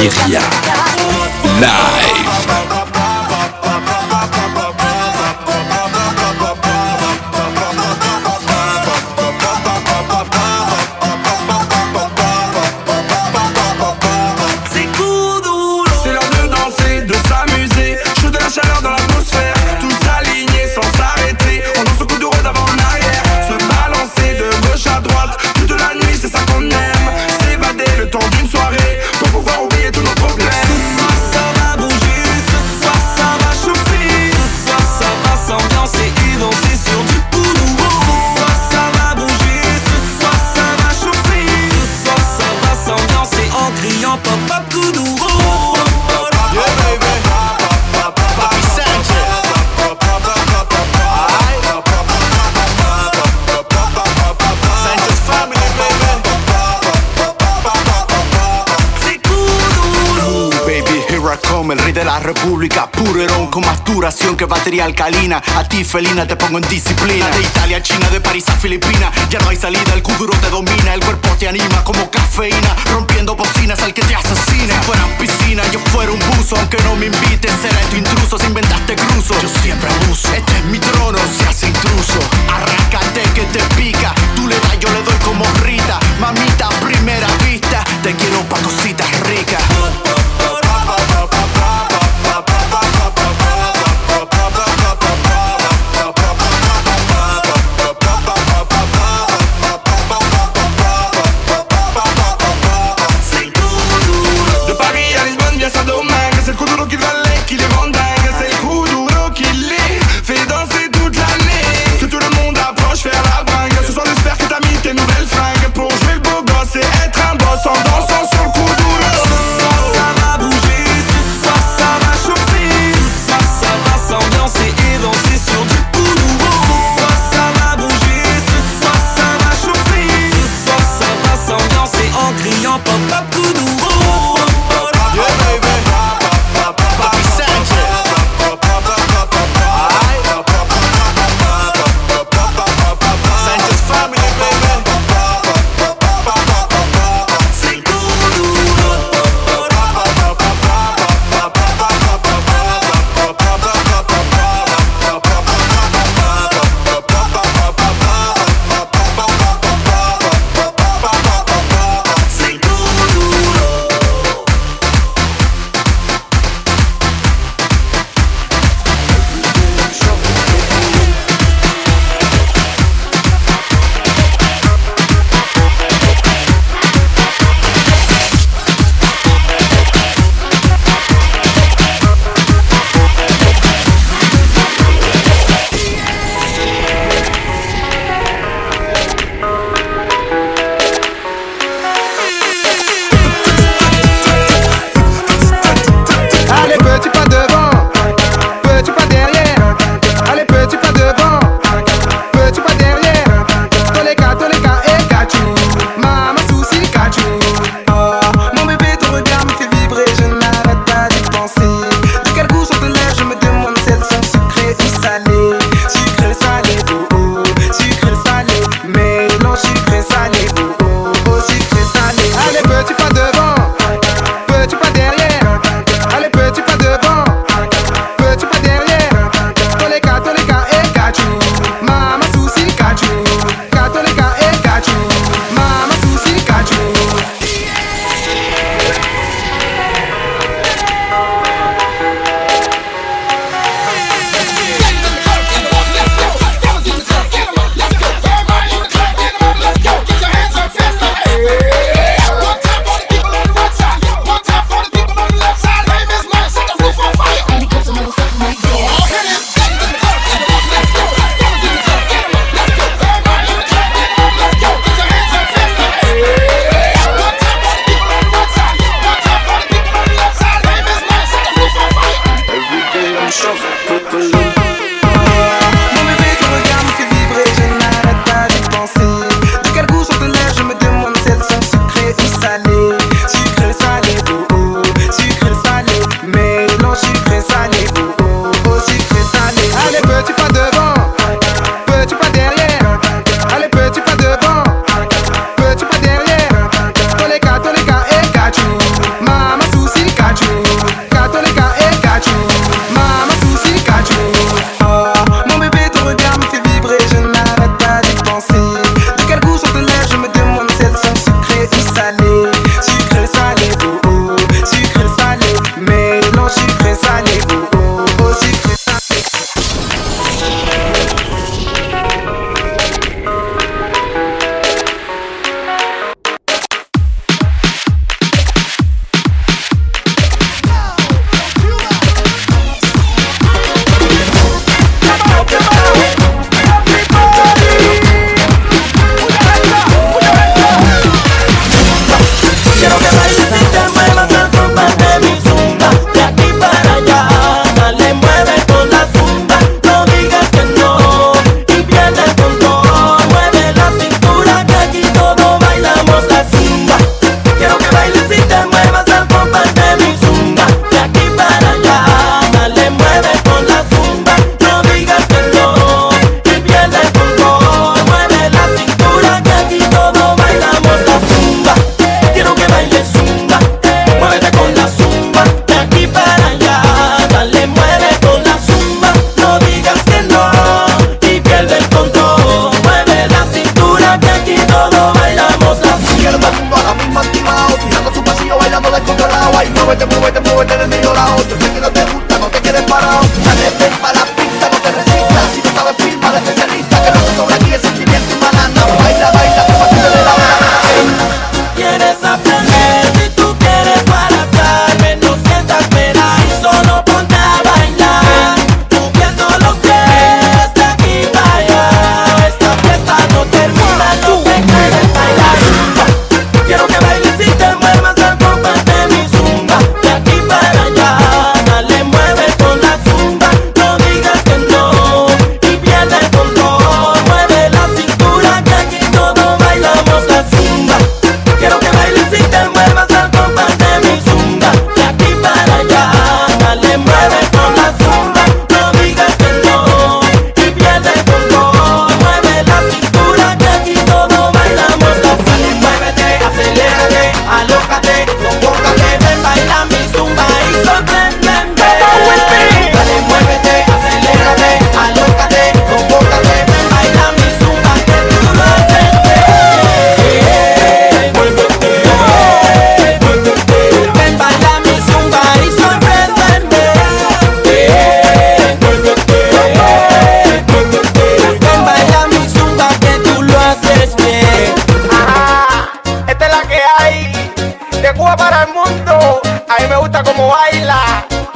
Iria live. El rey de la república, puro herón con más duración que batería alcalina. A ti felina te pongo en disciplina. De Italia a China, de París a Filipinas, ya no hay salida, el kuduro te domina. El cuerpo te anima como cafeína, rompiendo bocinas al que te asesina. Si fueran piscina, yo fuera un buzo. Aunque no me invites, será tu intruso. Si inventaste cruzo, yo siempre abuso. Este es mi trono, se hace intruso. Arráncate que te pica, tú le das, yo le doy como Rita. Mamita a primera vista, te quiero pa' cositas ricas. En dansant sur le coup d'ouro. Ça va bouger.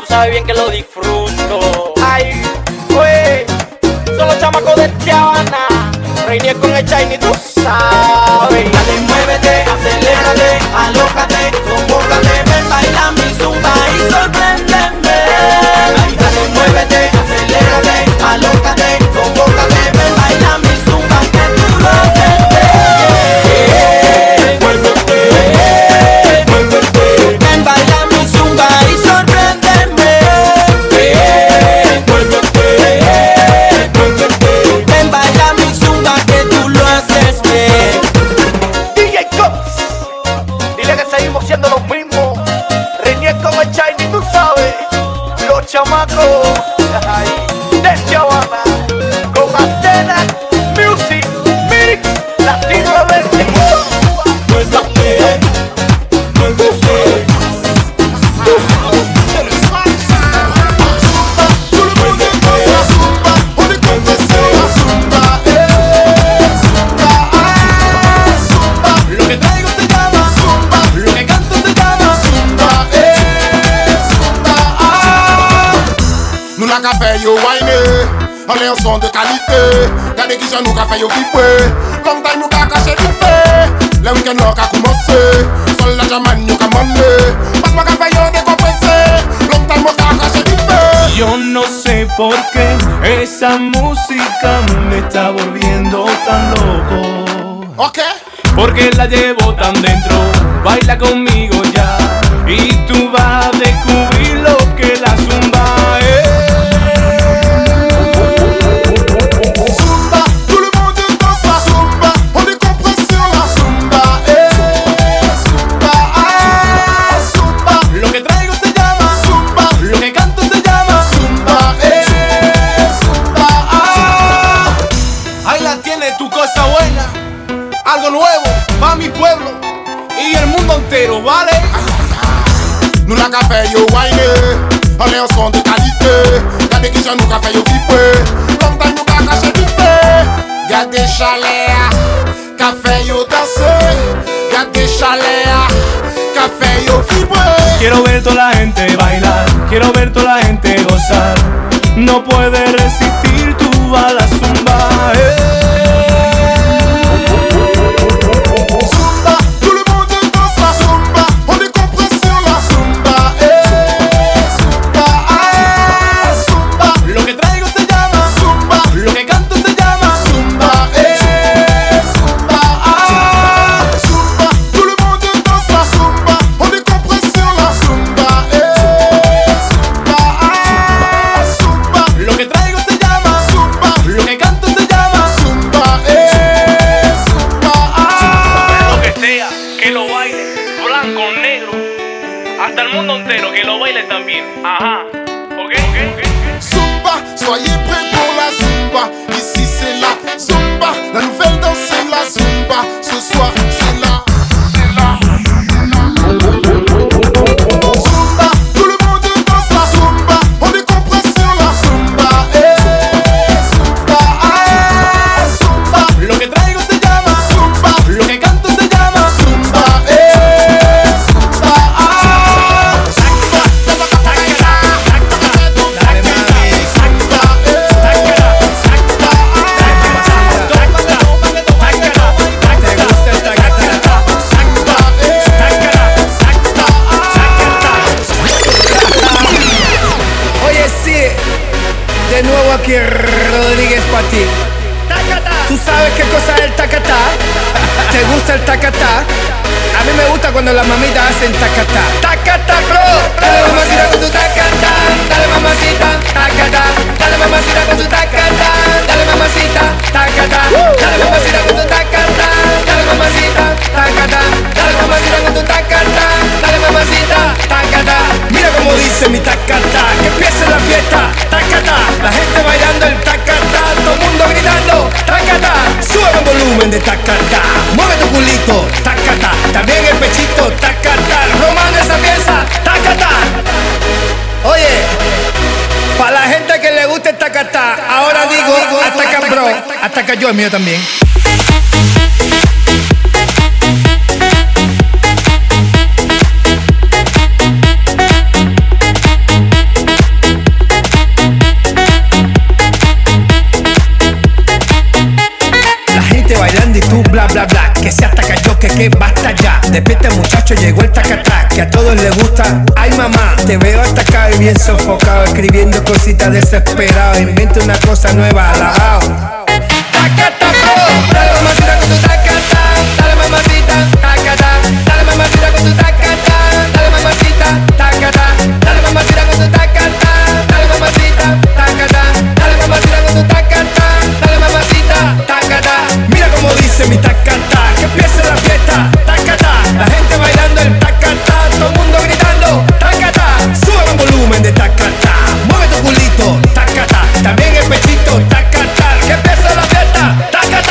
sabes bien que lo disfruto. Ay, güey, son los chamacos de Tijuana. Reiné con el Shiny, tú sabes. Dale, muévete, acelérate, alócate, sofócate, ven, baila mi zumba y sorpréndeme. Ay, dale, muévete, acelérate, alócate, sofócate, ven, baila mi zumba que tú lo haces. Muévete, ven, baila mi zumba y sorpréndeme. Muévete, ven, baila mi zumba que tú lo haces bien. DJ Cops, dile que seguimos siendo los mismos. Reñé con el Shiny, tú sabes. Los chamacos de Tijuana, con Antena Music Mix Latino Verde. Muévete, muévete. Qu'a fait yo whiner, on est un son de qualité. Regardez qui j'en nous qu'a fait yo flipper. Long time nous qu'a caché du fait. Le week-end nous qu'a commencé. Seul la jamane nous qu'a mandé. Pas moi qu'a fait yo décompressé. Long time nous qu'a caché du fait. Yo no sé por qué esa música me está volviendo tan loco. Ok. Porque la llevo tan dentro, baila conmigo ya. Y tú vas a descubrir lo que la zumba es. Algo nuevo pa' mi pueblo y el mundo entero, ¿vale? Nous la café yo whiner, on est un son de qualité. Regardez qui j'en nous café yo flipper. Long time nous qu'a caché du fait. Gardez chaleur, café yo danser. Gardez chaleur, café yo flipper. Quiero ver toda la gente bailar, quiero ver toda la gente gozar. No puede resistir tú a la zumba. Ajá, ok. Zumba, soyez prêts pour la zumba. Ici c'est la zumba, la nouvelle danse c'est la zumba. Ce soir c'est la zumba, tout le monde danse la zumba. On est compris sur la zumba. Zumba, zumba. Lo que traigo se llama zumba, lo que canto se llama zumba. De nuevo aquí Rodríguez para ti. ¿Tú sabes qué cosa es el tacatá? ¿Te gusta el tacatá? A mí me gusta cuando las mamitas hacen tacatá. Tacatá, bro. Dale mamacita con tu tacatá. Dale mamacita, tacatá. Dale mamacita con tu tacatá. Dale mamacita, tacatá. Dale mamacita con tu tacatá. Dale mamacita, tacatá. Dale mamacita con tu tacatá. Dale mamacita, tacatá. Mira cómo dice mi tacatá. Que empiece la fiesta, tacatá. La gente bailando el tacatá. Todo el mundo gritando, tacatá. Sube el volumen de tacatá. Mueve tu culito, tacatá. También el pechito, tacatá. Romano esa pieza, tacatá. Oye, para la gente que le gusta el tacatá, ahora digo, ataca bro, ataca yo, el mío también. muchachos llegó el tacatá, que a todos les gusta. Ay mamá, te veo hasta acá y bien sofocado, escribiendo cositas desesperado. Inventa una cosa nueva, alabao. Tacatá, bro, dale mamacita con tu tacatá, dale mamacita, tacatá, dale mamacita con tu tacatá, dale mamacita, tacatá, dale mamacita con tu tacatá, dale mamacita, tacatá, dale mamacita con tu tacatá, dale mamacita, tacatá. Mira cómo dice mi tacatá, que empiece la fiesta, tacatá, la gente bailando el tacatá, todo el mundo gritando, tacatá, sube el volumen de tacatá, mueve tu culito, tacatá, también el pechito, tacatá, que empiece la fiesta, tacatá.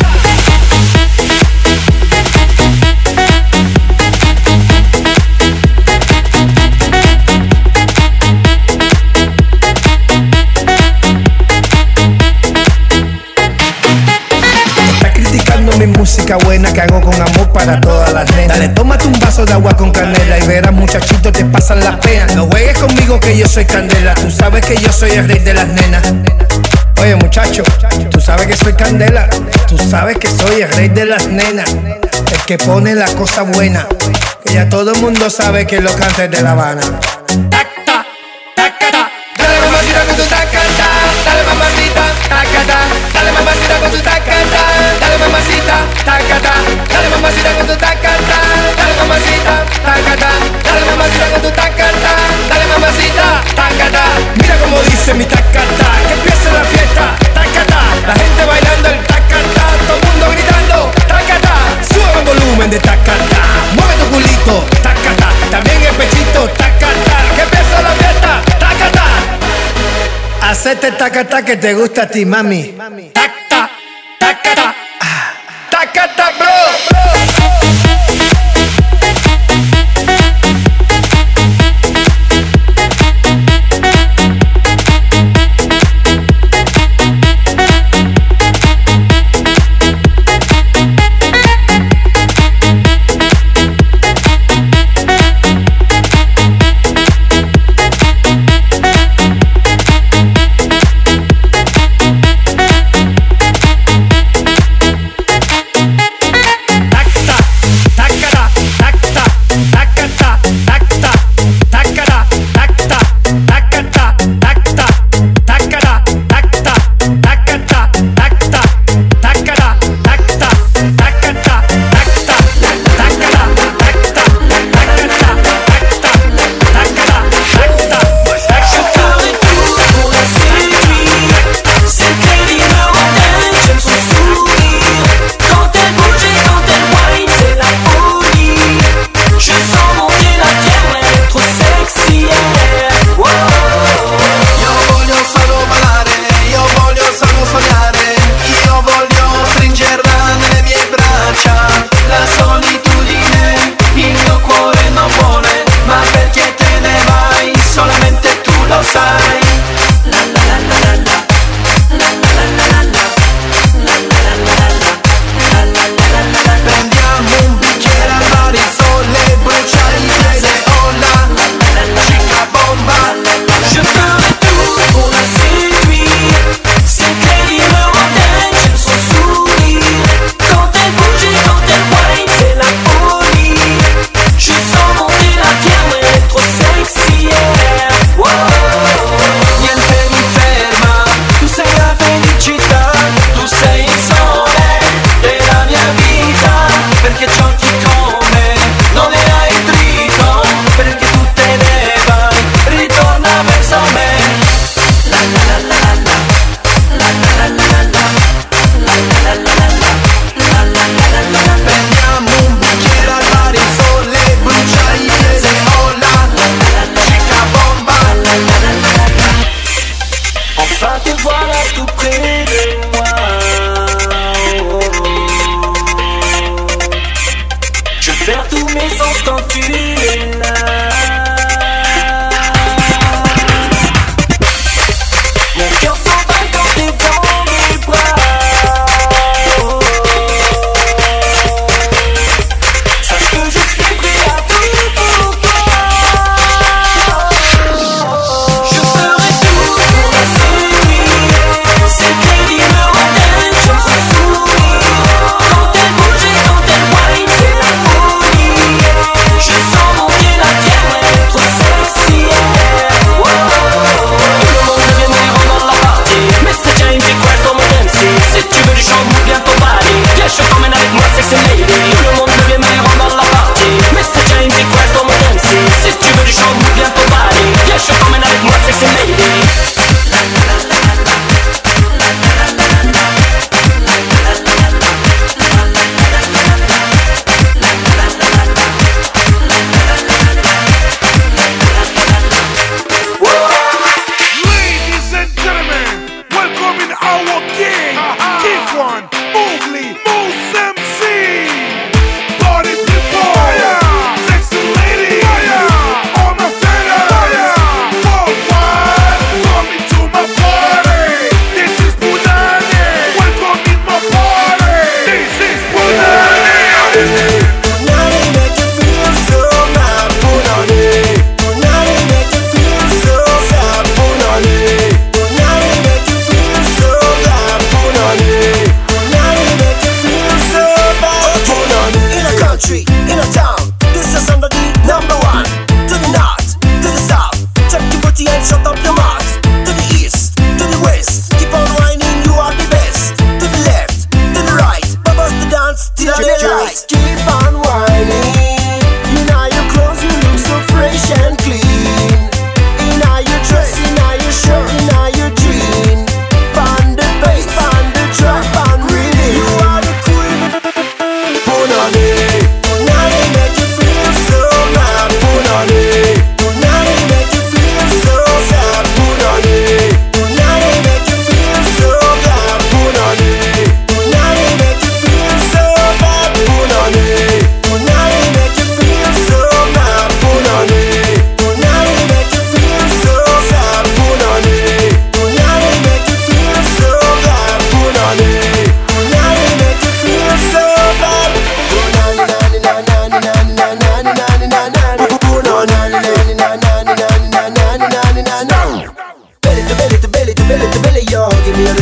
Mi música buena que hago con amor para todas las nenas. Dale, tómate un vaso de agua con canela y verás muchachito te pasan las penas. No juegues conmigo que yo soy candela, tú sabes que yo soy el rey de las nenas. Oye muchacho, tú sabes que soy candela, tú sabes que soy el rey de las nenas, el que pone la cosa buena, que ya todo el mundo sabe que lo canta de La Habana. Tacta, tacata, dale mamacita con tu tacata, dale mamacita, tacata, dale mamacita con tu tacata, dale mamacita, tacata, dale mamacita con tu tacata, dale mamacita, tacata, dale mamacita con tu tacata, dale mamacita, tacata. Mira cómo dice mi tacata, que empiece la fiesta, tacata, la gente bailando el tacata, todo el mundo gritando, tacata, sube el volumen de tacata, mueve tu culito, tacata, también el pechito, tacata, que empiece la fiesta, tacata. Hacete tacata que te gusta a ti, mami. Tacata, tacata, tacata, bro.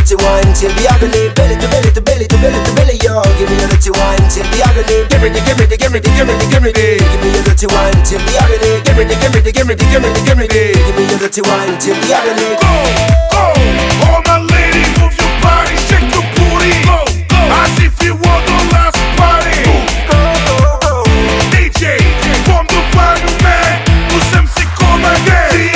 dirty wine till the agony. Belly to belly to belly to belly to belly, yo. Give me your dirty wine till the agony. Give me the, give me the, give me the, give me the, give me the. Give me your dirty wine till the agony. Give me the, give me the, give me the, give me the, give me the. Give me your dirty wine till the agony. Go, go, all my ladies, move your body, shake your booty. Go, go, as if you want the last party. Go, go, go. DJ, from the value man, who's MC come again.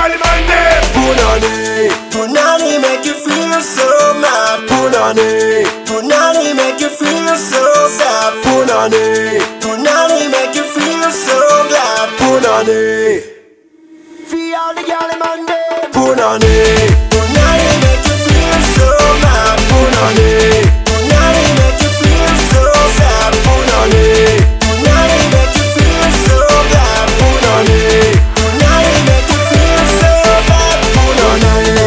Punani make you feel so mad. Punani, Punani make you feel so sad. Punani, Punani make you feel so glad. Punani, feel all the girl in Monday. Punani, Punani make you feel so mad. Punani, Punani make you feel so sad. Punani, Punani make you feel so glad. Punani, Punani make you feel so bad. Punani.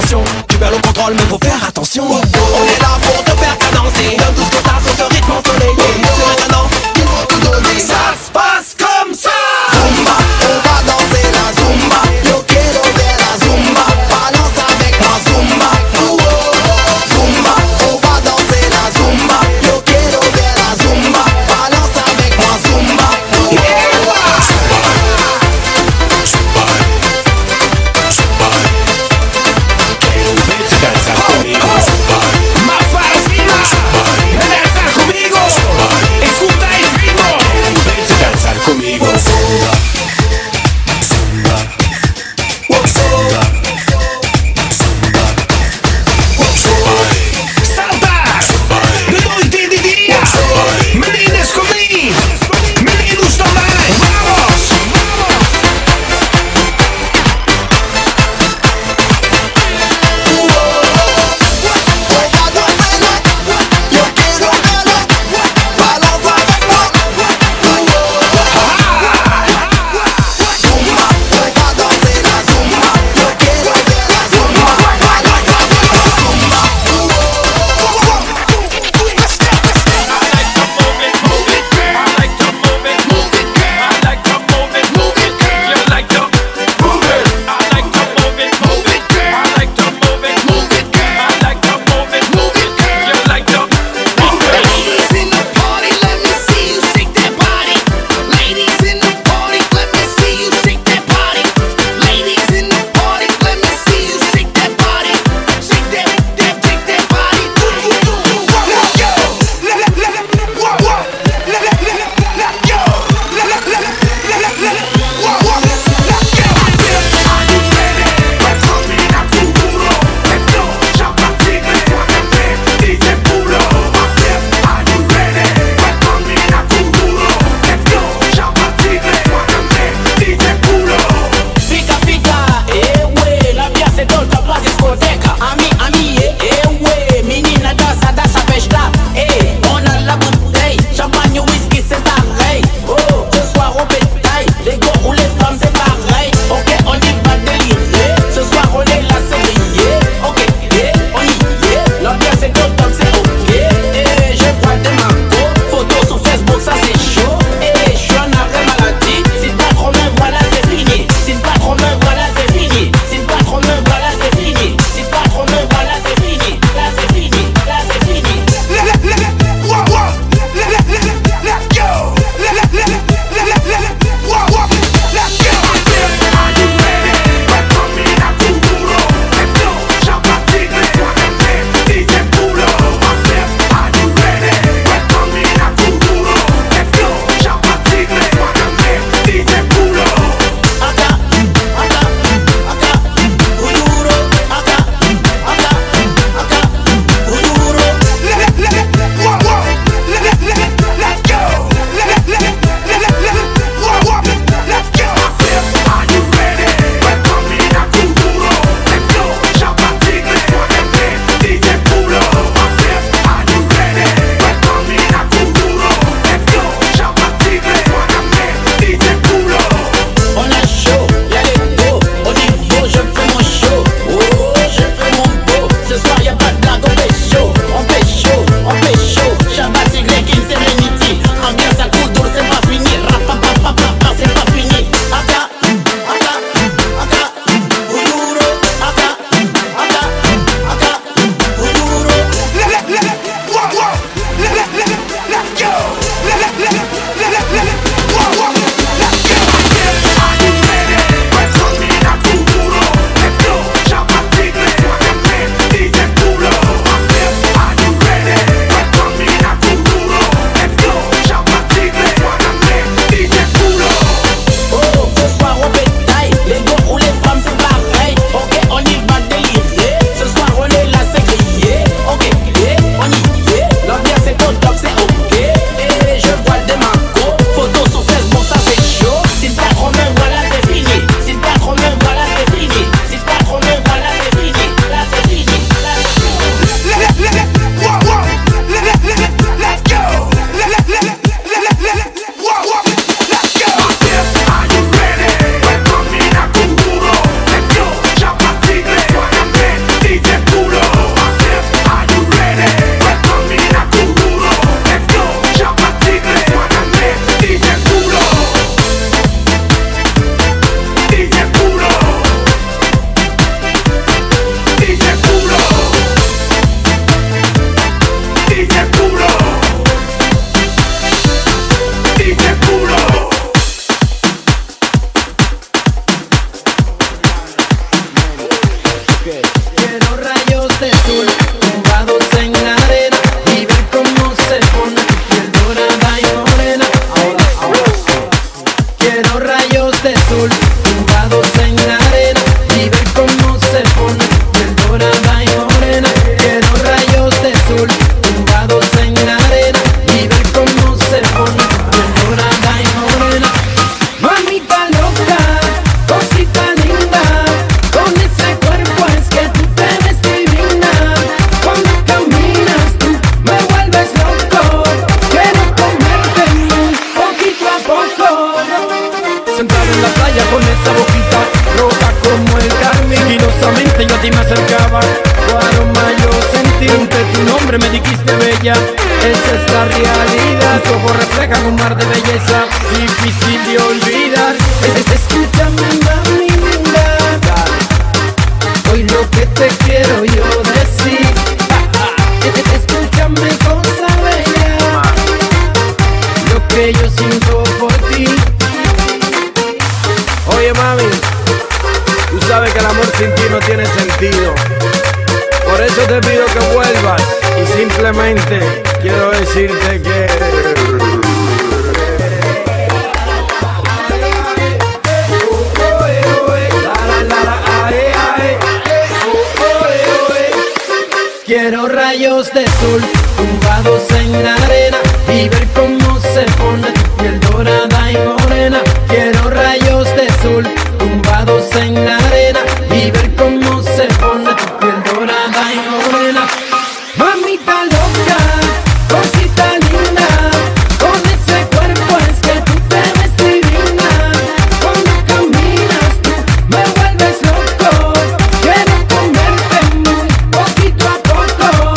pression. Tu perds le contrôle mais faut faire attention. On est là pour te faire cadencer. Donne tout ce que t'as sur ce rythme ensoleillé. C'est maintenant, il faut tout donner. Ça se passe comme ça. Zumba, on va danser la zumba. Yo quiero ver la zumba. Balance avec moi zumba. Zumba, on va danser la zumba. Yo quiero ver la zumba. Balance avec moi zumba. Quiero rayos de sol tumbados en la arena y ver cómo se pone tu piel dorada y morena. Ahora. Quiero rayos de sol tumbados en la arena y ver cómo se pone tu piel dorada y morena. Quiero rayos de sol tumbados en la arena y ver cómo se pone tu piel dorada y morena. Mamita loca, cosita linda, con ese cuerpo es que tú te ves divina. Cuando caminas tú me vuelves loco, quiero comerte muy poquito a poco. Sentado en la playa con esa boquita roja como el carmín, sigilosamente yo a ti me acercaba, tu aroma yo sentí, ante tu nombre me dijiste bella, esa es la realidad, tus ojos reflejan un mar de belleza, difícil de olvidar. Escúchame mami linda, hoy lo que te quiero yo decir, escúchame cosa bella, lo que yo siento por ti. Oye mami, tú sabes que el amor sin ti no tiene sentido. Por eso te pido que vuelvas y simplemente quiero decirte que quiero rayos de sol tumbados en la arena y ver cómo se pone tu piel dorada y morena. Quiero rayos de sol tumbados en la arena y ver cómo se pone tu piel dorada y morena. Mamita loca, cosita linda, con ese cuerpo es que tú te ves divina. Cuando caminas tú me vuelves loco, quiero comerte muy poquito a poco.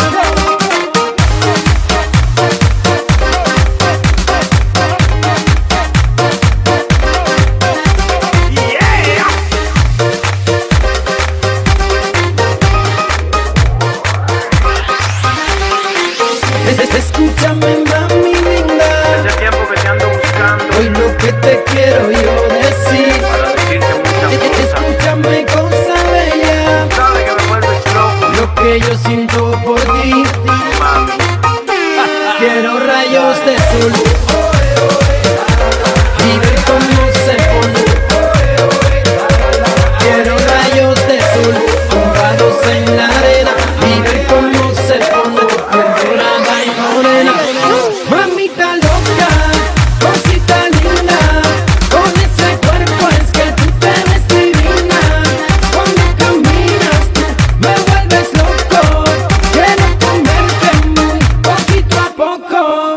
Escúchame mami linda, hace tiempo que te ando buscando hoy lo que te quiero yo decir, para decirte muchas cosas. escúchame cosa bella, Sabes que me vuelves loco, lo que yo siento por ti. mami. Quiero rayos de sol y ver cómo se pone. Quiero rayos de sol tumbados en la arena y ver cómo se pone tu piel dorada y morena. Mamita loca, cosita linda, con ese cuerpo es que tú te ves divina. Cuando caminas tú me vuelves loco, quiero comerte muy poquito a poco.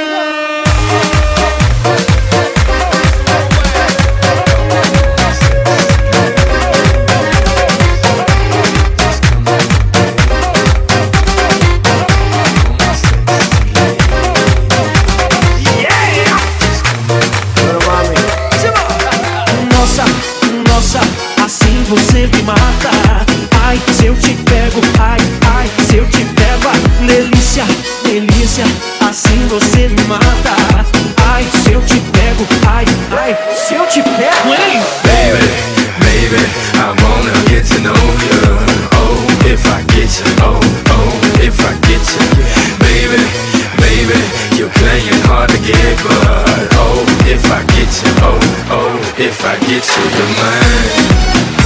Pero mami, Nossa, nossa, assim você me mata. Ai, se eu te pego, ai, ai, se eu te pego, ai, delícia, delícia, assim você me mata. Ai, se eu te pego, ai, ai, se eu te pego, hein? Baby, baby, I wanna get to know you. Oh, if I get you, oh, oh, if I get you. Baby, baby, you're playing hard to get, but oh, if I get you, oh, oh, if I get you, you're mine.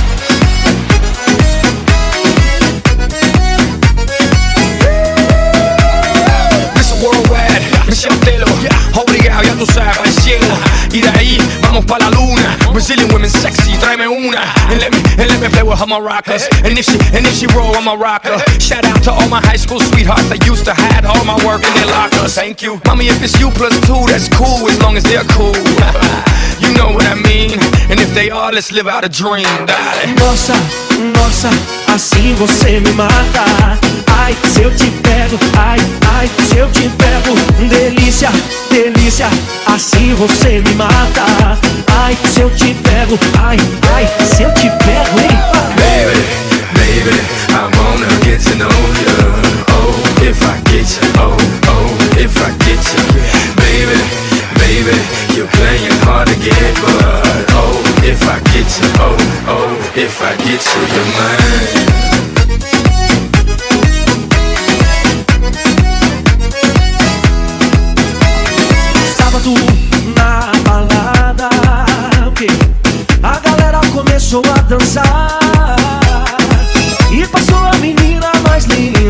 Worldwide, Michelle Telo, obligado, ya tú sabes, al cielo. Y de ahí vamos pa' la luna. Brazilian women sexy, tráeme una. And let me play with her maracas. And if she roll, I'm a rocker. Shout out to all my high school sweethearts that used to hide all my work in their lockers. Thank you, mommy. If it's you plus two, that's cool as long as they're cool. You know what I mean. And if they are, let's live out a dream, darling. Nossa, nossa, assim você me mata. Ai, se eu te pego, ai, ai, se eu te pego, delícia, delícia, assim você me mata. Ai, se eu te pego, ai, ai, se eu te pego, hein? Baby, baby, I wanna get to know you. Oh, if I get you, oh, oh, if I get you. Baby, baby, you're playing hard to get, but oh, if I get you, oh, oh, if I get you, you're mine.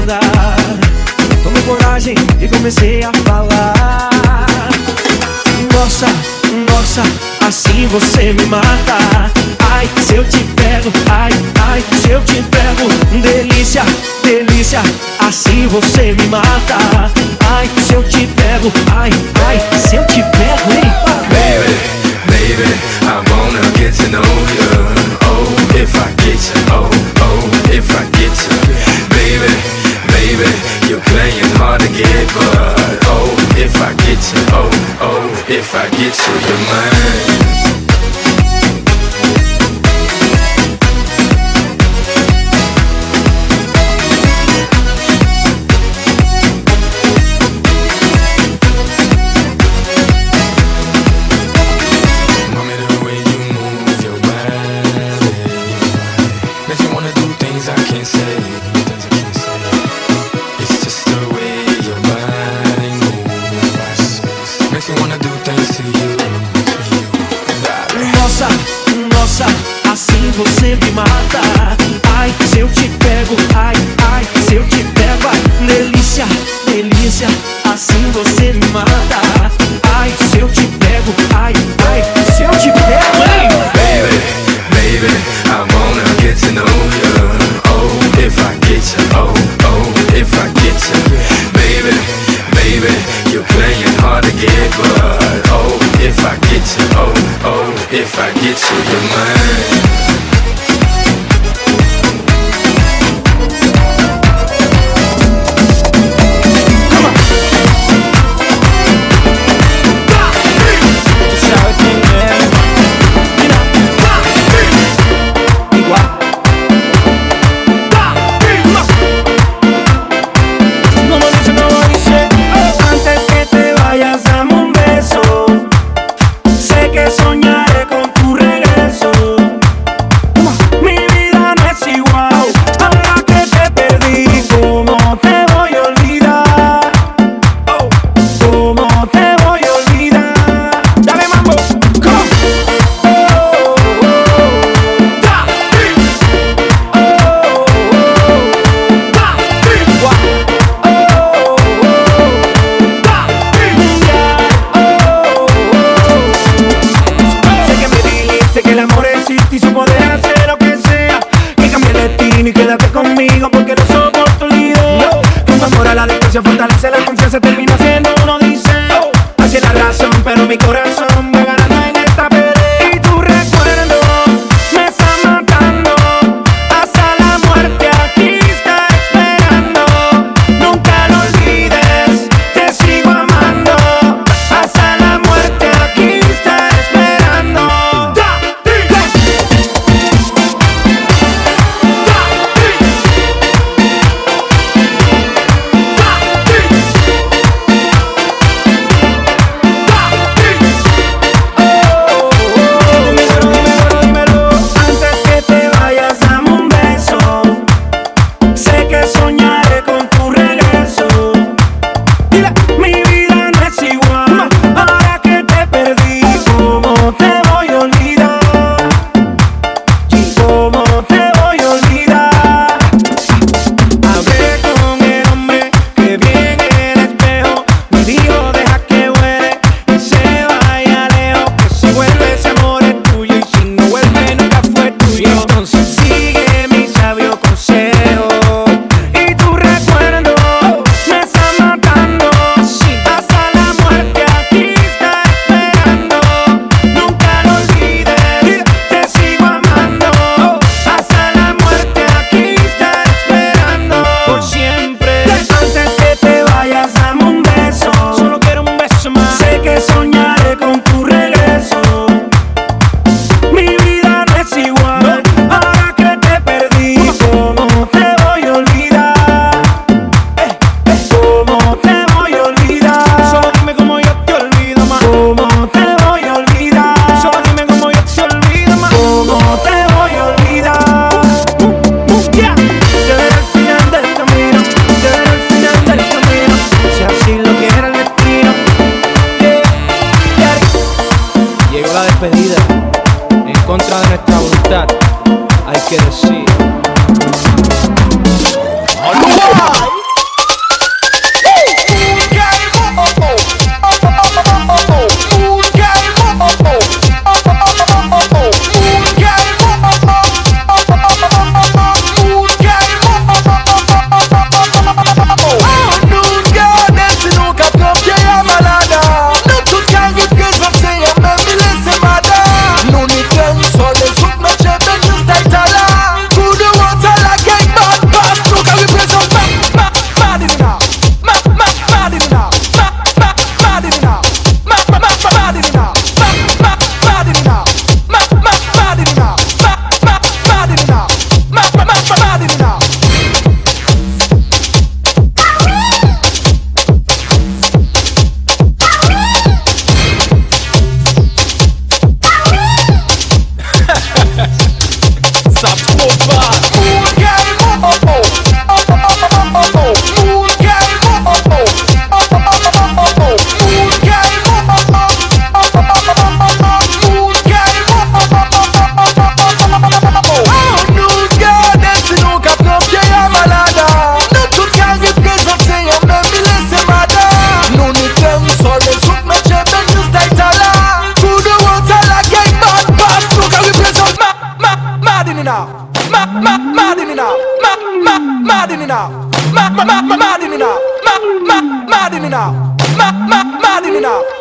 mudar. Tomei coragem e comecei a falar. Nossa, nossa, assim você me mata. Ai, se eu te pego, ai, ai, se eu te pego. Delícia, delícia, assim você me mata. Ai, se eu te pego, ai, ai, se eu te pego, hein? Baby, baby, I wanna get to know you. Oh, if I get you, oh, oh, if I get you. Baby, baby, you're playing hard to get, but oh, if I get you, oh, oh, if I get you, you're mine. Você me mata. Ai, se eu te pego, ai, ai, se eu te pego, ai, delícia, delícia, assim você me mata. Ai, se eu te pego, ai, ai, se eu te pego, hein? Baby, baby, I wanna get to know you. Oh, if I get you, oh, oh, if I get you. Baby, baby, you're playing hard to get, but oh, if I get you, oh, oh, if I get you, you're mine. Soñaré con tu regreso. Se fortalece la confianza, termina siendo uno dice hacia la razón, pero mi corazón va ganando en esta pelea. Y tu recuerdo me está matando, hasta la muerte aquí está esperando. Nunca lo olvides, te sigo amando, hasta la muerte aquí está esperando. me now. Mad in me now. Mad in me now.